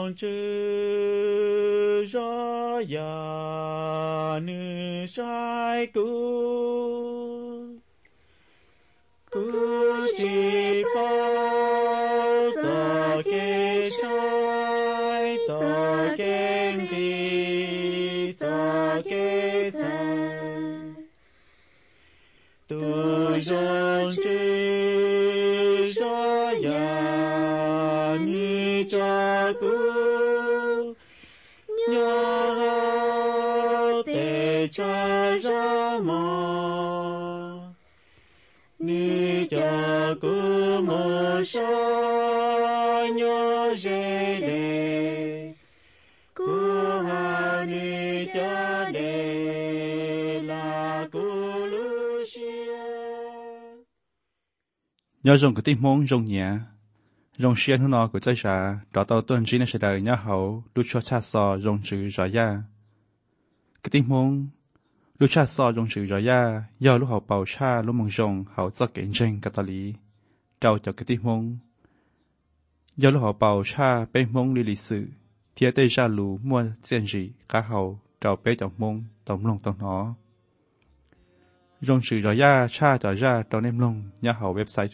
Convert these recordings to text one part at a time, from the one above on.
rong chữ rõ ya nữ sai cú chỉ bao giờ kê trái giờ kê đi giờ kê trái tu rong chữ rõ ya nữ cha cú nhớ để cha ra mò nữ cha cú mơ sa nhớ dễ đề cú hà nữ cha đề là cú Lucia nhớ rong cái tim mong rong nhẹ rong xiên hú nọ của trái trà đỏ tàu tuần chỉ nên sẽ đời nhớ hậu lúc cho cha sò rong chữ rõ ya cái tim mong lúc cha sò rong chữ rõ ya do lúc hậu bầu cha lúc mong rong hậu cho kiện tranh cái lý trao cho cái tim mong do lúc hậu bầu cha bên mong lý sự thiệt tây ra lù mua tiền gì cả hậu trao bé trọng mong tổng lòng tổng nó rong chữ rõ ya cha trở ra trong em lòng nhớ hậu website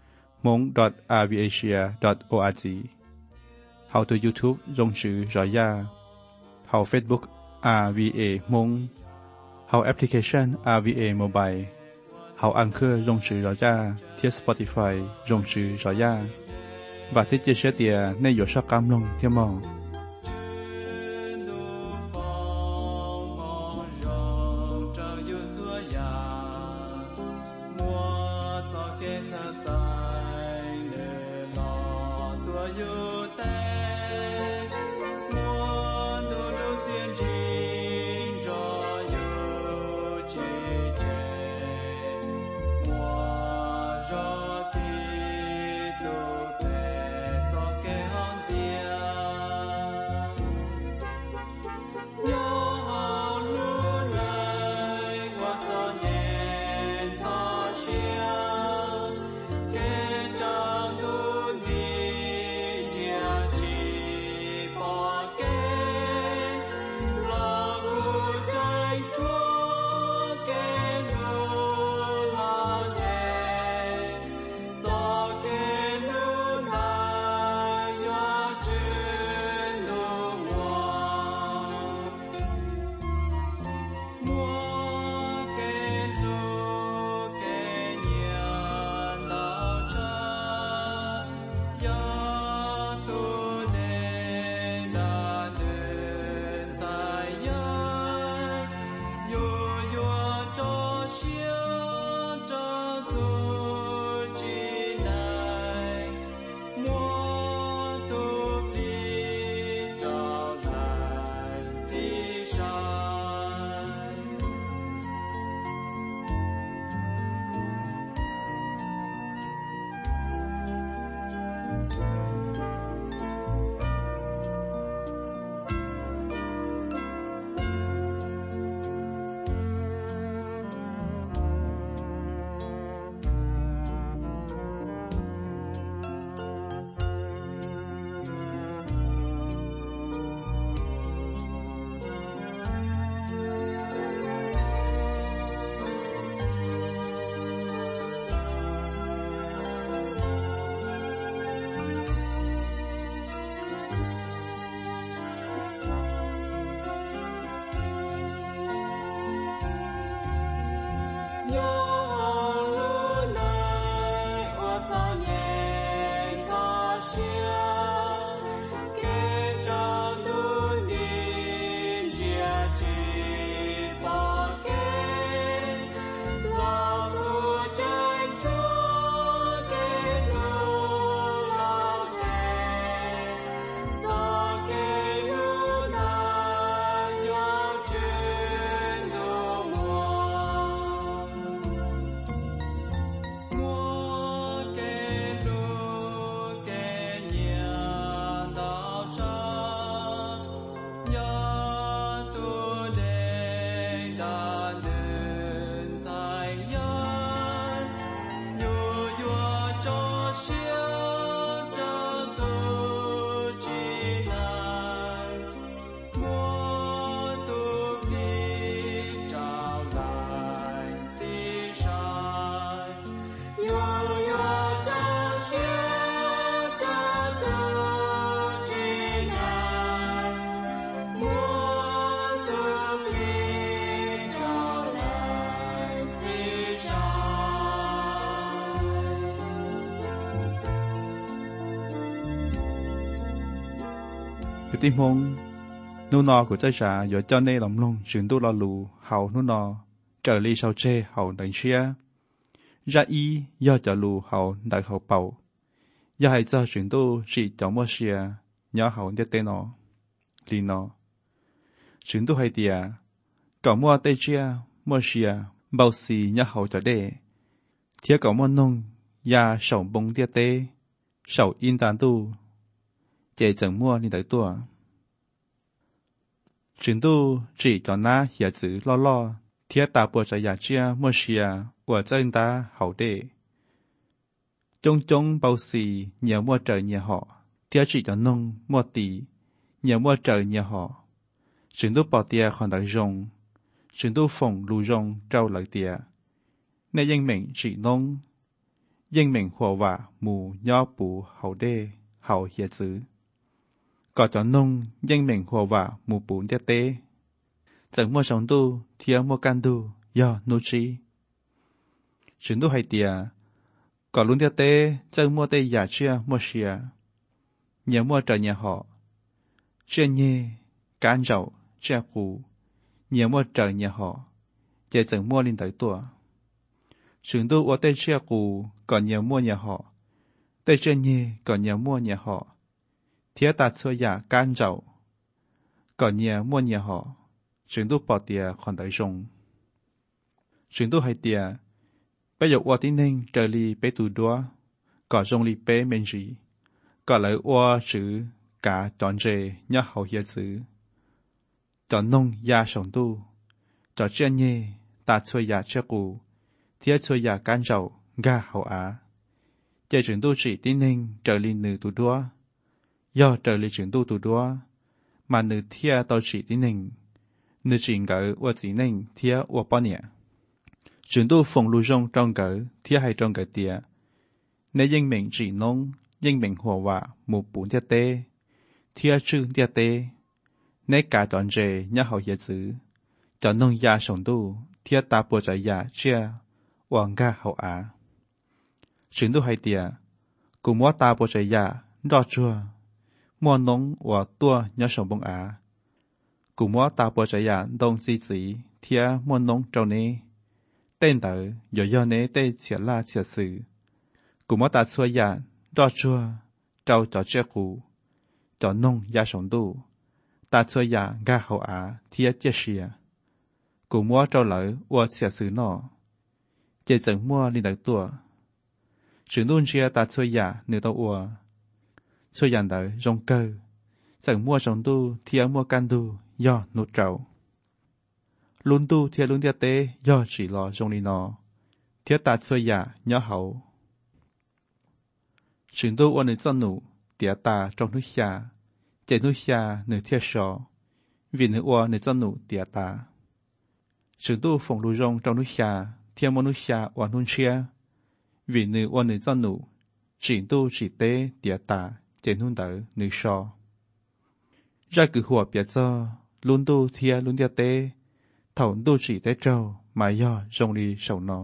mong.rvasia.org How to YouTube rong chữ rõ ya How Facebook RVA Mong How Application RVA Mobile How Anchor rong chữ rõ ya thiết Spotify rong chữ rõ ya và thiết chia sẻ tiền nên有sắc cam lòng thêm mong cái tim hông nô nọ của trái trà giờ cho nên lòng lông chuyển tu lo lù hậu nô nọ trở li sau chê hậu đánh chia ra y do cho lù hậu đại hậu bầu do hai giờ chuyển tu chỉ cho mua xia nhớ hậu nhất tên nó li nó chuyển tu hai tia cậu mua tây chia mua xia bao xì nhớ hậu cho đê thiết cậu mua nông ya sầu bông tia tê sầu in tàn tu chế chẳng mua đi tới tua chuyển tu chỉ cho na hiểu chữ lo lo thiết ta bộ cho ya chia mua xia của chân ta hậu đê chung chung bao xì nhiều mua trời nhiều họ thiết chỉ cho nông mua tỷ nhiều mua trời nhiều họ chuyển tu bỏ tia còn đại rồng chuyển tu phòng lù rồng trâu lợi tia nên dân mình chỉ nông dân mình hòa vả mù nho bù hậu đê hậu hiểu chữ có cho nông dân mình hòa vả mù bù tia tê chẳng mua sống tu thiết mua can tu do nô trí chuyển tu hay tia có luôn tia tê chẳng mua tê giả chia mua xìa nhớ mua trời nhà họ chia nhê cán rậu chia cù nhớ mua trời nhà họ chế chẳng mua lên tới tua chuyển tu ở tê chia cù còn nhớ mua nhà họ tê chia nhê còn nhớ mua nhà họ thiết ta xua giả cán rậu còn nhớ mua nhà họ chuyển tu bỏ tia còn tới rồng chuyển tu hay tia bây giờ ở tí nên trời li bé tù đua có rồng li bé men gì có lấy ở chữ cả chọn rể nhớ hậu hiệp chữ chọn nông ya sống tu chọn chuyện nhé ta chơi ya chơi cũ thiết chơi ya can rậu ga hậu á chơi chuyển tu chỉ tí nên trời li nữ tù đua do trời li chuyển tu tù đua mà nữ thiết tao chỉ tí nên nữ chỉ ngỡ ở chỉ nên thiết ở bao nhiêu chuyển tu phòng lưu rong trong cỡ thiết hay trong cỡ tia nếu dân mình chỉ nông dân mình hòa vạ một bốn tia tê thiết chữ tia tê nếu cả chọn rể nhớ hậu hiệp chữ chọn nông ya sống tu thiết ta bộ trái ya chia hoàng ga hậu á chuyển tu hay tia cùng mua ta bộ trái ya đo chua mua nông và tua nhớ sống bông á cùng mua ta bộ trái ya đông xí xí thiết mua nông trâu nê tên tử do nế tê chia la chia sự cùng ta xua ya đo chua trâu cho chia cũ cho nông ya sống tu ta xua ya ga hậu á thiết chia xìa cùng mua trâu lỡ và chia sự nọ chế chẳng mua lên được tua sự luôn chia ta xua ya nửa tàu ua xua ya đỡ rong cơ chẳng mua sống tu thiết mua can tu do nút trâu luôn tu thiết luôn thiết tế do chỉ lo trong đi nó thiết ta chơi giả nhớ hậu chuyển tu ôn cho nụ tía ta trong núi xa chạy núi xa nửa thiết sọ vì nửa ôn cho nụ tía ta chuyển tu phòng lưu rong trong núi xa thiết môn núi xa ôn hôn chia vì nửa ôn cho nụ chuyển tu chỉ tế tía ta chạy hôn đỡ nửa sọ ra cửหัวbiệt cho luôn tu thiết luôn thiết tế thầu tu chỉ tế trâu mà do rong đi sầu nó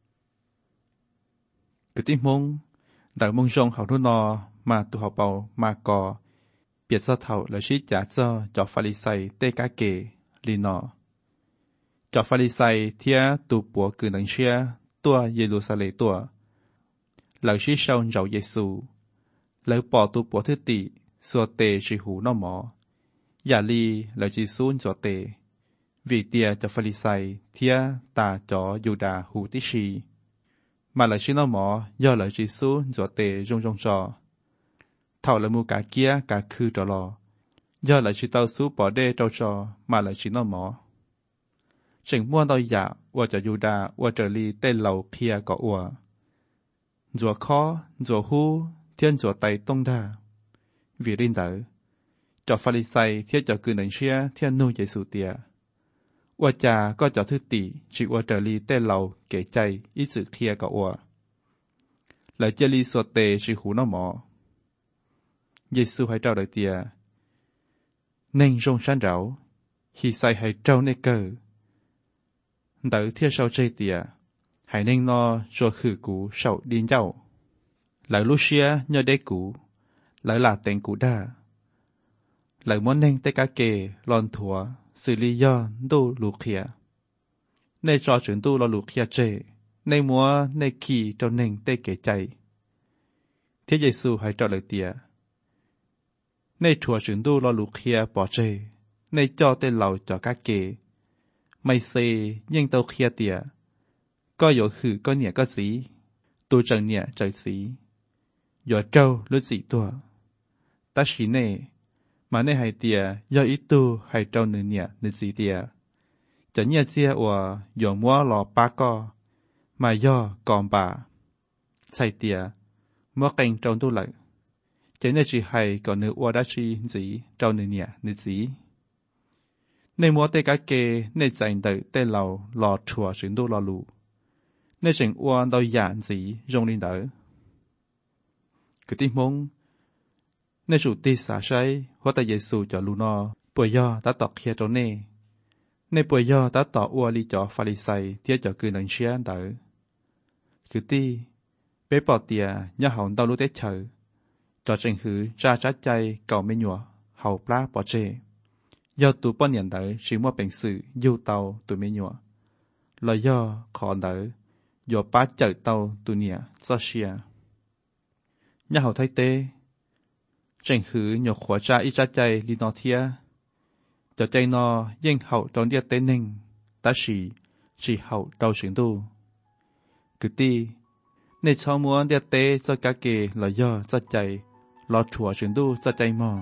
cái tim mông đại mông rong hậu thu nọ mà tu học bầu mà cò biệt do thầu là sĩ trả cho pha li say tê cá kề li nọ cho pha li say thia tu bùa cử nâng xia tua Jerusalem tua lời sĩ sau dầu Giêsu lời bỏ tu bùa thứ tỷ xua tê chỉ hủ nó mỏ giả li lời chỉ xuống cho tê vì tia cho Pharisai thia ta cho Juda hữu tí xì mà lại xin nó mỏ do lời chỉ số cho tề rong rong trò thảo là mua cả kia cả khư trò lò do lời chỉ tao số bỏ đê trâu trò mà lại chỉ nó mỏ chỉnh mua đôi dạ và cho Juda và trở li tên lầu kia có ủa rùa khó rùa hu thiên rùa tay tông đa vì linh tử cho Pharisai thiết cho cư nền xia thiên nu Giêsu tiaว่าจาก็จะทึกตีจิว่าเจรีเต้เราเก๋ใจอีสึเคลียกับว่าแล้วเจรีสวดเตจิหูน้อหมอเยซูให้เจ้าได้เตียเน่งจงชันเราฮีใส่ให้เจ้าเนเกอร์เด๋อเทียเช้าใจเตียให้เน่งนอชัวคือกูเช้าดินเจ้าแล้วลูเชียเนเด็กกูแล้วหลาเต็งกูได้ lại muốn nên tới cá kề lon thua xử lý do đu lù khía nên cho chuyện tu lo lù khía chế nên múa nên kỳ cho nên tới kể chạy Thế Giê-xu hãy trả lời tía nên chùa chuyện tu lo lù khía bỏ chế nên cho tới lầu cho cá kề mày xê nhưng tao khía tía có yếu khử có nhẹ có gì tu chẳng nhẹ trời gì yếu trâu lúc gì tua ta chỉ nè mà nè hay tía do ít tu hay trâu nửa nhẹ nửa gì tía chẳng nhẹ chia or yếu mua lò ba co mà do còn bà chạy tía mua cành trâu tu lại chẳng nhẹ chỉ hay còn nửa or đã chỉ gì trâu nửa nhẹ nửa gì nên mua tê cá kê nên dành đợi tê lầu lò chùa chuyển tu lò lù nên chỉnh uan đôi dạng gì rong lên đỡ cứ tin mong nên chủ tì xả say hóa tại Giê-xu cho lù no bồi do đã tọt kia cho nè nên bồi do đã tọt uan li cho Pha-li-sai thiết cho cứ nâng xia đỡ cứ ti bé bỏ tiề nhớ hỏng đau lú tết chờ cho chỉnh hứ ra trái chay cầu mê nhọ hậu plá bỏ chê do tụ bao nhiêu đỡ chỉ mua bệnh sự du tàu tụ mê nhọ là do khó đỡ do bá chở tàu tụ nhẹ do xia nhà hậu thay tê chỉnh hứ nhọ khóa ra ít trái chay li nó thia cho chay nó yên hậu trong địa tê ninh ta chỉ hậu đầu chuyển tu cứ ti nên cho muốn địa tê cho cá kê là do cho chay lo chùa chuyển tu cho chay mò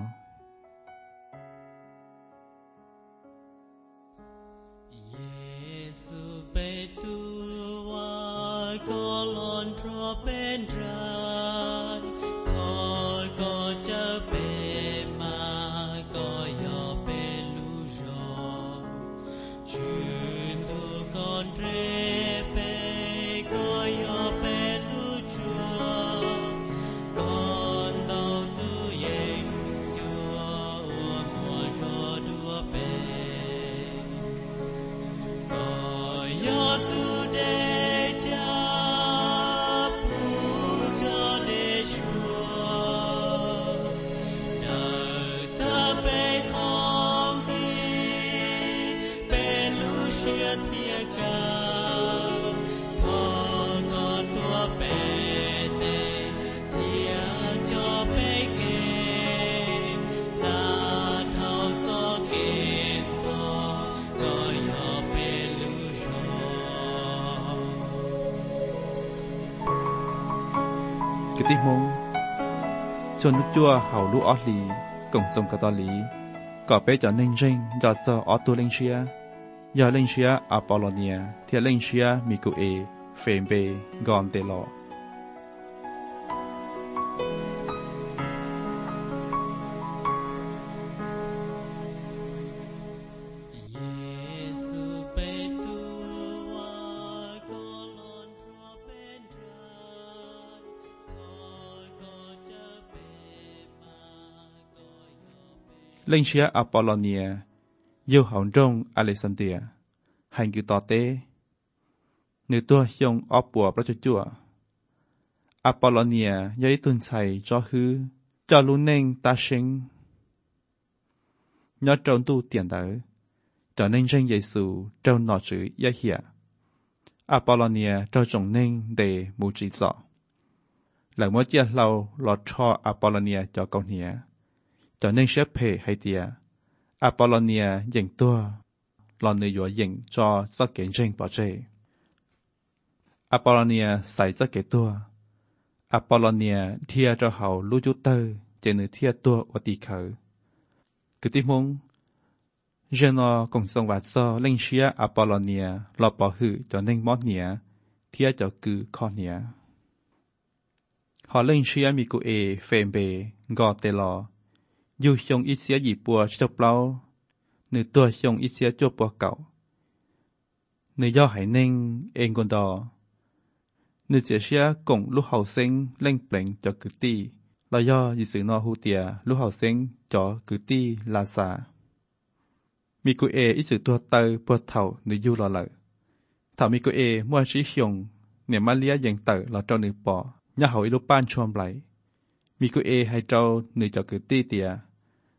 cái tiếng mông cho nước chua hậu lũ ót lì cùng sông cả to lý có bé cho nên rinh do giờ ót tu linh xia do linh xia Apollonia thì linh xia Micuê phèn bê gòn tê lọ linh xia Apollonia yêu hồng trong Alexandria hành cứ tỏ tế nữ tua dùng ốp bùa bát chúa Apollonia giấy tuần chạy cho hư cho lũ nên ta sinh nhớ trong tu tiền đỡ cho nên danh Giê-xu trong nọ chữ giá hiệu Apollonia cho trồng nên để mù chỉ rõ lần mỗi chia lâu lọt cho Apollonia cho con nhẹ cho nên sẽ phê hay tìa Apollonia dành tua lò nữ dùa dành cho giấc kiện rinh bỏ chê Apollonia xảy giấc kiện tua Apollonia thia cho hậu lưu chú tơ trên nữ thia tua ở tì khởi cứ tí mông riêng nó cùng sông vạt so linh xia Apollonia lò bỏ hư cho nên món nhẹ thia cho cứ khó nhẹ họ linh xia Micuê phèn bê gò tê lò dù xong ít xía gì bùa cho bao nữ tua xong ít xía cho bùa cậu nữ do hải ninh em còn đò nữ chỉ xía cùng lúc hậu sinh lên plệnh cho cử ti là do dị sự nó hữu tìa lúc hậu sinh cho cử ti là xả Micuê ít sự tua tơ bùa thầu nữ du lò lợi thảo Micuê mua sĩ xong niệm Maria dành tờ là cho nữ bỏ nhà hậu lúc ban chôm lại Micuê hay trâu nữ cho cử ti tìa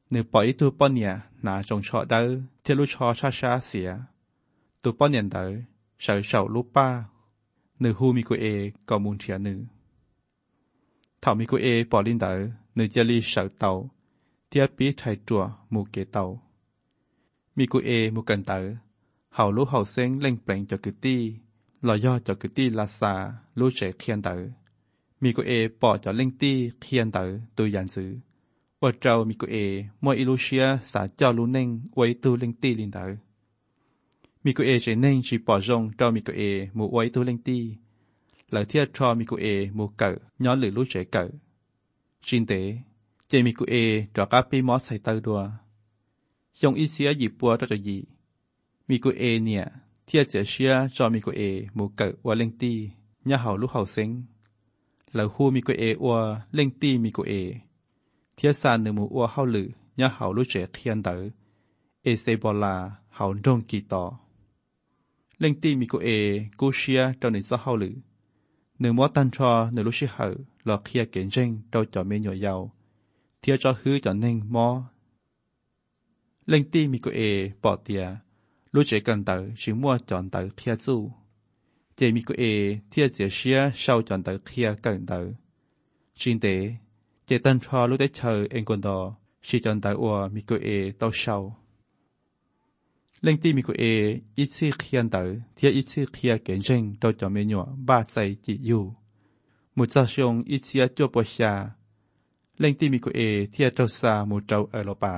nữ bỏ ý tu bọn nhà nà trông trọ đỡ thiết lúc cho cha xỉa tu bọn nhà đỡ sợ sầu lúc ba nữ hu mi cô có muốn chia nữ thảo mi cô bỏ linh đỡ nữ gia li sợ tàu thiết bí thay chùa mù kế tàu mi cô mù cần đỡ hậu lúc hậu sen lên bèn cho cứ ti lò do cho cứ ti là xa lúc trẻ khiên đỡ mi cô bỏ cho lên ti khiên đỡ tôi dàn giữว่าเจ้ามีกูมวยอิลูเชียสาเจ้าลูเน่งไว้ตูเล็งตีลินเตอมีกูเจเน่งชีปอจงเจ้ามีกูหมู่ไว้ตูเล็งตีหลังเทียทอมีกูหมู่เก่าย้อนหรือลูกเจเก่าจินเตเจมีกูจอกาปีมอสใส่เตอดัวยงอีเสียหยิบปัวตัวจะยีมีกูเนี่ยเทียเจียเชียจอมีกูหมู่เก่าว่าเล็งตีย่าเห่าลูกเห่าเซ็งหลังคู่มีกูว่าเล็งตีมีกูเทียสานหนึ่งมัวเข้าหรือย่าเขารู้เจเทียนเต๋อเซบอลาเขาดงกีต่อเล่งตีมีกูเชียเจ้าหนึ่งจะเข้าหรือหนึ่งมัวตันชอหนึ่งรู้ชิเหอหลอกเคียเก่งเจงเจ้าจ่อเมียหน่วยยาวเทียจอฮื้อจ่อเน่งมอเล่งตีมีกูปอเตียรู้เจกันเต๋อชิมัวจอนเต๋อเทียจู่เจมีกูเทียเจียเชียเศร้าจอนเต๋อเทียกันเต๋อชินเตเจตันชอรู้ได้เชอเองคนดอชีจอนตาอัวมีกูเต้าเชาเล่งตีมีกูอีซี่เคียนเตอเทียอีซี่เคียเก่งเจงโดยจอมเมญัวบ้าใจจิอยู่มุจจาชงอีเสียจัวปชาเล่งตีมีกูเทียเจ้าซามุเจ้าเอโรปา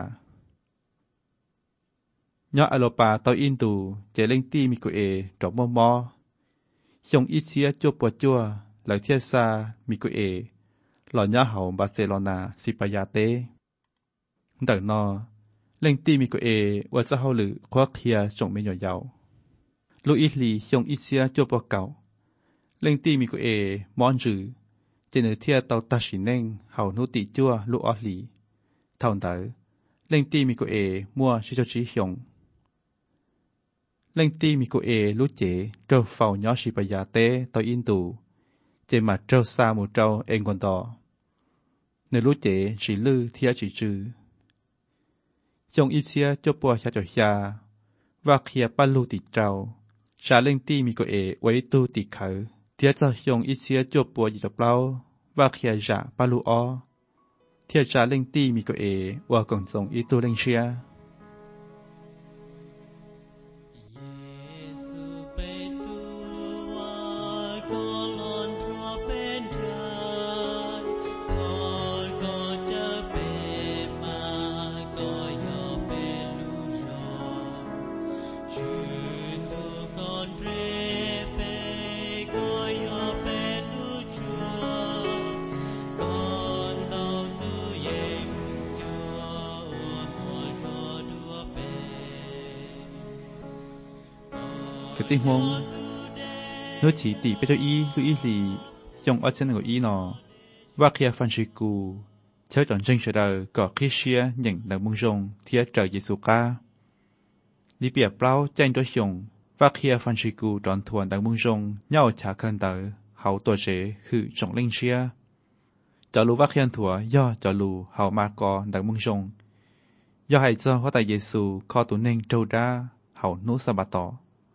ย่อเอโรปาเต้าอินตูเจเล่งตีมีกูจอบมอชงอีเสียจัวปจัวหลังเทียซามีกูหล่อญ่าเห่าบาร์เซโลนาซิปายาเต้แต่นอเล่งตีมีกูว่าจะเฮาหรือควักเคียจงไม่หย่อยยาวลูอิลีชงอิเซียจัวปอเก่าเล่งตีมีกูมอนจือเจเนเทียเตาตาชินเน่งเห่านุติจัวลูออลีเท่าเต๋อเล่งตีมีกูมัวชิโจชิชงเล่งตีมีกูลูเจเจ้าเฝ้าย่อชิปายาเต้เตาอินตูเจมาเจ้าซามูเจ้าเองคนต่อในรู้เจสีลือเทียจีจือจงอิเซียเจ้าปัวชาจอยาว่าเคียปั้นลูติเจ้าชาเล่งตีมีก็ไว้ตูติเขาเทียจะจงอิเซียเจ้าปัวหยิบเล่าว่าเคียจ่าปั้นลูอ้อเทียชาเล่งตีมีก็ว่ากงจงอิตูเล่งเชียกติมงนู้chỉตีไปเจ้าอีลูอีลียงอัดเส้นกับอีนอว่าเคียฟันชิกูเช้าจอนเจงเฉดก็คริสเชียอย่างดังมุงจงเทียเจอเยซูกาลิเปียเปล่าแจ้งตัวชงว่าเคียฟันชิกูจอนทวนดังมุงจงเย่าฉาคันเตอเขาตัวเจคือจงเล่งเชียจะรู้ว่าเคียนถัวย่อจะรู้เขามากอดังมุงจงย่อให้เจ้าเขาแต่เยซูข้อตัวเน่งโจดาเขานุสบาตอ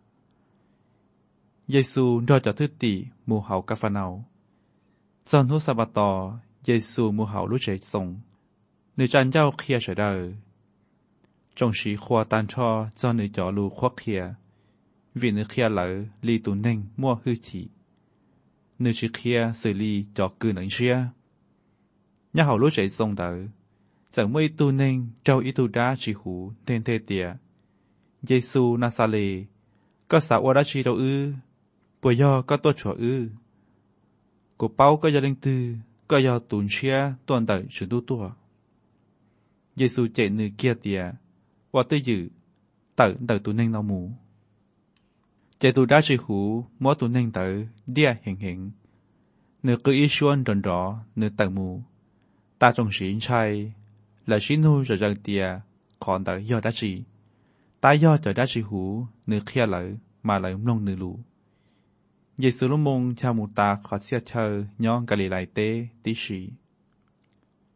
เยซูรอดจากทุติมูเฮากาฟาเนาจอนทุสบาตอเยซูมูเฮารู้เจทรงในจันเจ้าเคียเฉดจงสีขวาตันชอจอนในจอลูควักเคียวินเคียเหลอลีตุนเน่งมั่วฮือฉีในชิเคียสื่อลีจอกืนหนังเชียย่าเฮารู้เจทรงจากเมื่อตุนเน่งเจ้าอิตุดาชิหูเทนเทเตียเยซูนาซาเลก็สาวราชีเราปวยย่อก็ตัวชัวกูเป้าก็ยาเล็งตือก็ยาตุนเชียตัวเต๋อชุดตัวเยซูเจนือเกียเตียว่าตื้อยืเต๋อตุนเน่งเราหมูเจตูได้ชิหูมัวตุนเน่งเต๋อเดียเห็งเนื้อคืออีชวนจนรอเนื้อเต๋อหมูตาจงสีชัยและชินูจะจังเตียขอนเต๋อยอดได้ชีตายอดจะได้ชิหูเนื้อเคียเหลอมาเหลอลงเนื้อลูเยซูลุมงชามูตาขอเสียเธอย้องกะลีไลเตติชีว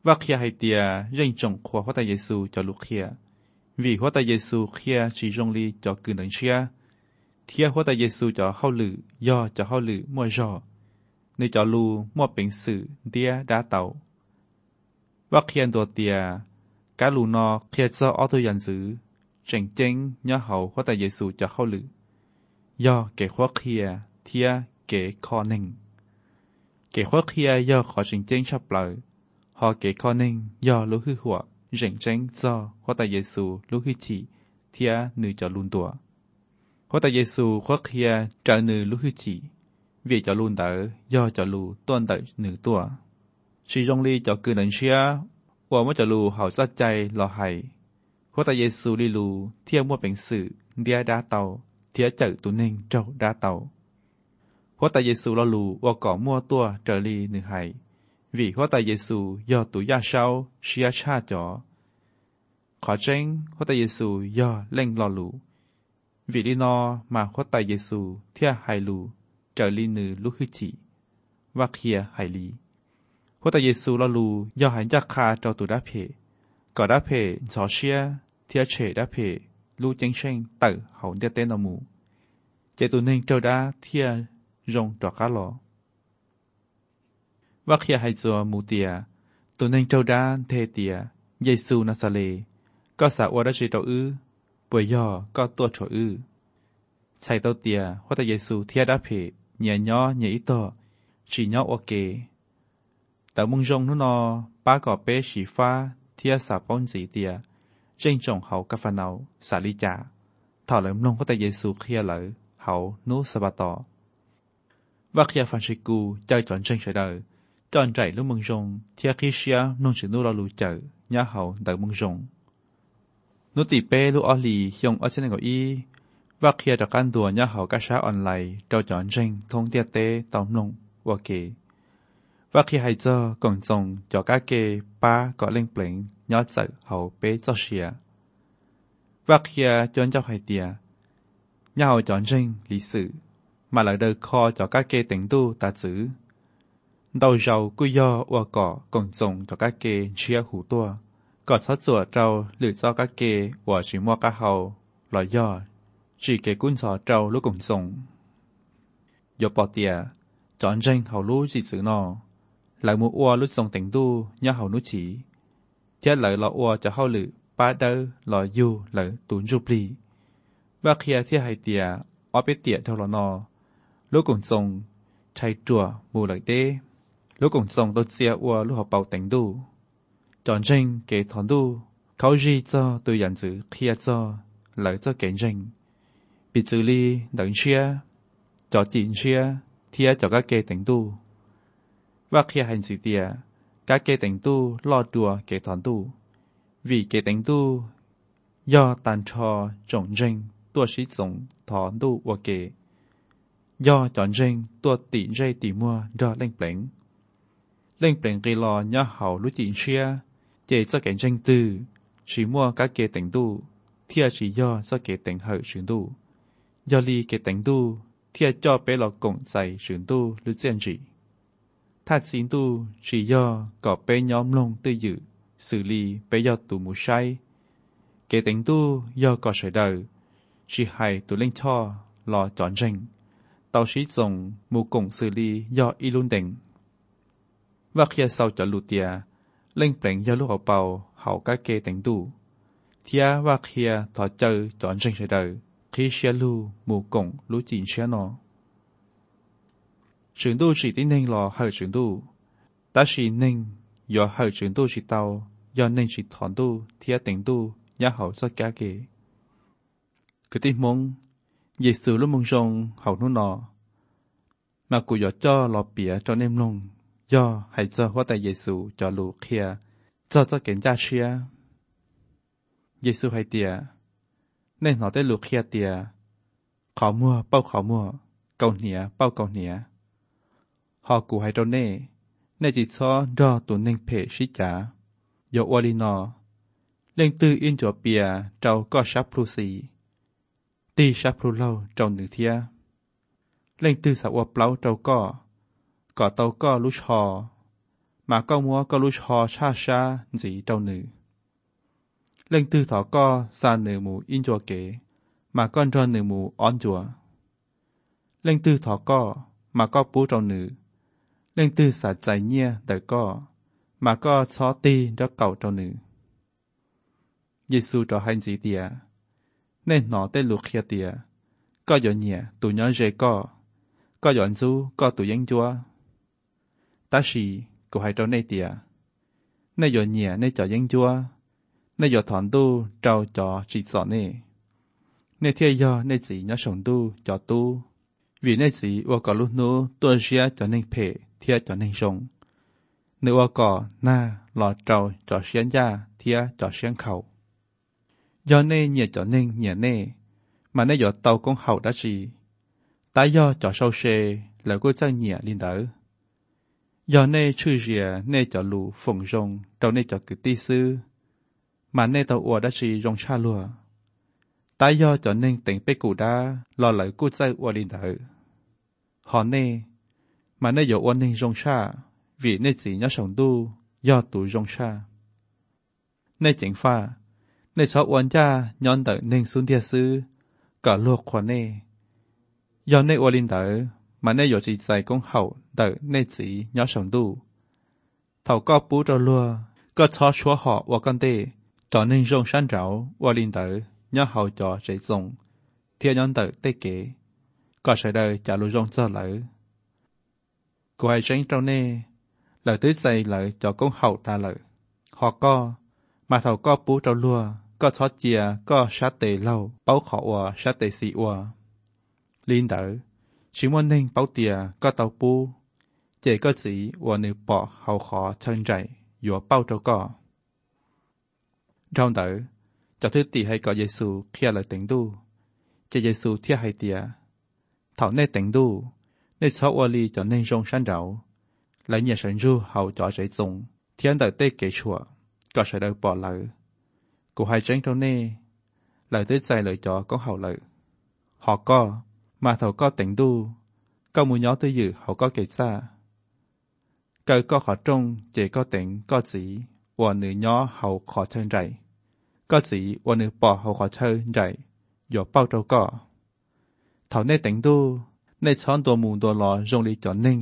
ว่าเคียให้เตียเร่งจงขวาพระตาเยซูจะลุกเคียvìพระตาเยซูเคียchỉจงลีจะกืนหนังเชียเทียพระตาเยซูจะเข้าหรือย่อจะเข้าหรือมั่วจ่อในจะลูมั่วเป็นสื่อเดียดาเต่าว่าเคียนตัวเตียกาลูนอเคียจะเอาตัวยันซื้อเจ๋งเจ๋งย่อเขาพระตาเยซูจะเข้าหรือย่อเก๋ขวาเคียเทียเก๋คอหนึ่งเก๋ขวาเคียย่อขอเจ๋งเจ๋งชับเลยหอเก๋คอหนึ่งย่อรู้คือหัวเจ๋งเจ๋งจ้อพระตาเยซูรู้คือจีเทียนือจะลุนตัวพระตาเยซูขวาเคียจะนือรู้คือจีvì cho luôn đỡ do cho lù tuân đỡ nữ tua chỉ trong ly cho cứ nền xia và mới cho lù hậu sátใจlò hayพระเยซูลีลูเที่ยวมั่วเป็นสื่อเดียดาเตาเที่ยเจอตุนิงเจ้าดาเตาพระเยซูลลูว่าก่อมั่วตัวเจอลีหนึ่งไห้vìพระเยซูย่อตุยาเช้าเชียชาจ่อขอเจ้งพระเยซูย่อเล่งลอลูvìลีนอมาพระเยซูเที่ยไฮลูเจอลีนือลุคือจีว่าเคียไฮลีพระเยซูลลูย่อหันจากคาเจ้าตุดาเพก่อดาเพสอเชียเทียเฉดาเพลูเจงเชงเต๋อเขาเดียเต้นอมูเจตุนึงเจ้าดาเทียรงจอกาลอว่าเคียไฮจัวมูเตียตัวนึงเจ้าดาเทเตียเยซูนาซาเลก็สาวดาเจเจ้าป่วยย่อก็ตัวฉอใช้เต้าเตียพระเยซูเทียดาเพเนียย่อเนียอิโตฉีย่อโอเกแต่มุงจงนุนอป้าก่อเป้ฉีฟ้าเทียสาป้อนสีเตียเจ้งจงเขากาฟานาสาลิจาถอดเหลิมลงพระเยซูเคียเหลอเขานูสบาตอว่าเคียฟันชิกูเจ้าจอนเจ้งเฉยจอนใจลูกมุงจงเทียคิเชียนุ่งจืดนูเราลูเจอย่าเขาเดมุงจงนุติเป้ลูกอลียงอัจฉริยะอีว่าเคียจากการตัวย่าเขากระช้าออนไลน์เจ้าจอนเจงทงเตียเต้ตอมลงว่าเกว่าเคียให้เจ้ากงจงจากการเกป้าก็เล่งเปล่งย้อนใจเขาเป้เจ้าเชียว่าเคียจนเจ้าไฮเตียย่าเขาจอนเจงลิสือมาหลังเดินคอจากการเกติงตู้ตาจื้อดาวเจ้ากุยย่อว่าก่อกงจงจากการเกเชียหูตัวกอดซัดจวดเจ้าหรือเจ้าการเกว่าชิมัวกะเฮาลอยย่อchỉ kể quân sò trâu lúc cùng sông, giờ bỏ tiệt, chọn tranh hậu lú chỉ xử nọ, lại mua oa lúc sông tỉnh tu nhớ hậu nút chỉ, chết lại lọ oa cho hậu lử, ba đơ lọ du lại tốn chụp lì, và khi thiết hai tiệt, ở bên tiệt theo lọ nọ, lúc cùng sông, chạy chùa mù lại đê, lúc cùng sông tôi xe oa lúc học bảo tỉnh tu, chọn tranh kể thon tu,เขาจีcho tôi nhận giữ khi cho lại cho kể tranh bị xử lý đằng chia cho chín chia thia cho các kê tỉnh tu và khi hành sự tiệt các kê tỉnh tu lo đùa kê thọn tu vì kê tỉnh tu do tàn trò trồng rinh tua sĩ trồng thọn tu và kê do chọn rinh tua tỉ dây tỉ mua do lên bền gây lo nhớ hậu lúc chín chia chế cho kẻ rinh tư chỉ mua các kê tỉnh tu thia chỉ do cho kê tỉnh hậu chuyển tu do li kể tỉnh tu thiệt cho bé lọ cổng dày chuyển tu lưu diện chỉ thắt xin tu chỉ do có bé nhóm lông tư dự xử lý bé do tù mù say kể tỉnh tu do có sợi đời chỉ hay tù linh cho lò chọn rình tàu sĩ dùng mù cổng xử lý do y luôn đỉnh và khi sau cho lụt tia linh bền do lúc học bầu hậu các kê tỉnh tu thiệt và khi thọ chơi chọn rình sợi đời khi xe lưu mù cổng lũ chín xe nó trường tu chỉ tin nên lò hơi trường tu ta chỉ nên do hơi trường tu chỉ tàu do nên chỉ thọn tu thiết tỉnh tu nhá hậu cho cả kề cái tin mong Giêsu lúc mong rong hậu nó nọ mà cụ giờ cho lò bìa cho nem lông do hãy cho hóa tại Giêsu cho lũ kia cho kiện cha chia Giêsu hay tiệt nên họ tới lục kia tiệt khó mua bao khó mua cầu nĩa bao cầu nĩa họ cụ hay đâu nè nên chỉ cho do tụi nên phê sĩ trả do oali nọ lên tư in cho bìa trâu có sáp plu xì ti sáp plu lâu trâu nữ thia lên tư sạp oa plau trâu có tàu có lú chò mà có mua có lúc họ xa xa gì đâu nữ. Lên tư thọ có xa nữ mù in chùa kế, mà con cho nữ mù on chùa. Lên tư thọ có, mà có bố trâu nữ. Lên tư xả giải nhia đời có, mà có chó ti cho cậu trâu nữ. Giê-xu cho hành gì tìa, nên nó tên lục khía tìa, có dọn nhẹ tụi nhỏ dễ có dọn du có tụi dân chúa. Ta sĩ, cô hãy trâu nê tìa, nê dọn nhẹ nê cho dân chúa, nê dọn thọn tu trâu cho trị sọ nê. Nê thiê do nê chỉ nhỏ sống tu cho tu, vì nê chỉ ua có lúc nô tuần xia cho nên phê thiê cho nên sống. Nê ua có na lọ trâu cho xiên gia thiê cho xiên khẩu. Do nê nhẹ cho nên nhẹ nê, mà nê dọn tàu công hậu đã chỉ. Tại do cho sâu xê là cô chân nhẹ linh đỡ. Do nê chư dìa nê cho lù phồng rồng trâu nê cho cử tí sư, mà nê tàu ua đã chỉ rong cha lùa. Tại do cho nên tỉnh bế cụ đá lo lợi cô chân ua linh đỡ. Họ nê, mà nê dọ ua nên rong cha, vì nê chỉ nhớ sống tu, do tụ rong cha. Nê chính pha, nê cho uốn cha nhón đỡ nên xuống địa sư, cả luộc khoa nê. Do nê ua linh đỡ, mà nê dọ chỉ dạy công hậu đỡ nê chỉ nhớ sống tu. Thảo có bú trò lùa, có cho chúa họ ua con tê, cho nên rong sáng ráo ua linh đỡ, nhớ hậu cho dễ dùng, thiê nhón đỡ tê kế. Có sẽ đời trả lũ rong cho lỡ. Cô hãy tránh trâu nê, lời tứ dày lợi cho công hậu ta lợi. Họ có, mà thầu có bú trâu lùa, có thoát chìa, có sát tề lâu, báo khó ua, sát tề xị ua. Linh đỡ, chỉ muốn nên báo tìa, có tàu bú, chỉ có chỉ ua nữ bỏ hậu khó thân rảy, dùa bao trâu có. Trong đỡ, cho thứ tì hay có Giê-xu khi lời tỉnh đu, chỉ Giê-xu thiết hay tìa. Thảo nê tỉnh đu, nê cho ua ly cho nên rong sáng ráo, lấy nhà sẵn ru hậu cho dễ dùng, thiên đời tê kế chùa, có sẽ đời bỏ lỡ. Cô hai tránh trâu nê, lời tê dài lời cho có hậu lợi. Họ có, mà thầu có tỉnh đu, có mùi nhỏ tư dự hậu có kể xa. Cờ có khó trông, chỉ có tỉnh, có chỉ, ua nữ nhỏ hậu khó thân rảy. Có chỉ, ua nữ bỏ hậu khó thân rảy, dỗ bao trâu có. Thảo nê tỉnh đu, nê chọn đồ mù đồ lò rong lý cho nên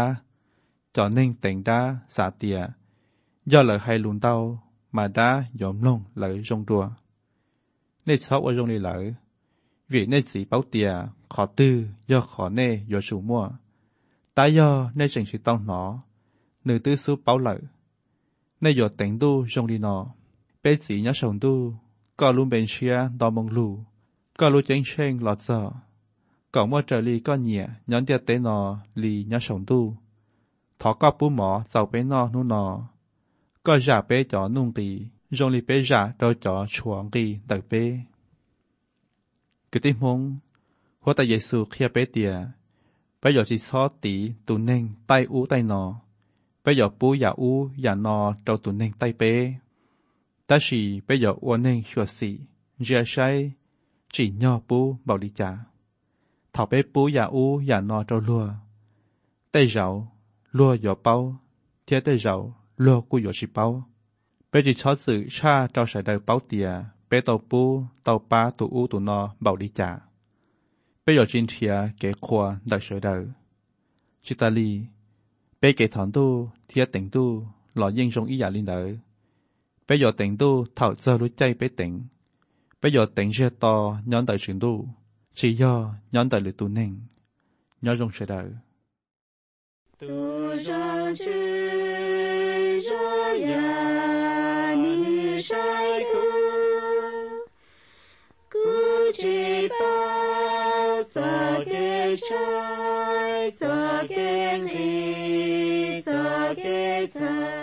tỉnh đá xả tìa, do lời hay lùn đau, mà đã dõm lông lời rong đùa. Nê chọn ở rong lý lợi, vì nê chỉ báo tìa, khó tư, do khó nê dỗ chủ mua. Tại do nê trình sự tông nó, nữ tư số báo lợi. Nê dỗ tỉnh đu rong lý nó, bế chỉ nhớ sống đu, có luôn bên xia đo mong lù, có luôn chênh chênh lọt dở. Cậu mua trở lì có nhẹ, nhón tiệt tế nò, lì nhá sống tu. Thó có bú mỏ, giàu bế nò nụ nò. Có giả bế chó nung tì, rong lì bế giả đôi chó chuộng tì đợi bế. Cứ tìm hông, hóa ta Giê-xu khía bế tìa. Bây giờ chỉ xó tì tù nên tay ú tay nò. Bây giờ bú giả ú giả nò trâu tù nên tay bế. Ta chỉ bây giờ ua nên khua xì, dìa say, chỉ nhỏ bú bảo đi trả. Thảo bế bú giả ú giả nò trâu lùa. Tây rau, lùa dọ bao, thiết tây rau, lùa cú dọ chỉ bao. Bế chỉ chó sự cha trao sải đời bao tìa, bế tàu bú, tàu ba tụ ú tụ nò bảo đi trả. Bế dọ chín thịa kế khoa đời sải đời. Chị ta lì, bế kế thọn tu, thiết tỉnh tu, lọ yên rong ý giả linh đời. Bế dọ tỉnh tu, thảo giờ lối chay bế tỉnh. Bế dọ tỉnh rê to, nhón đời trường tu. Chỉ do nhón đời lửa tu nên, nhó rong sẽ đời. Tu rong chư rong ya ni sai ku chỉ bao cho cái trái cho cái ly cho cái trái.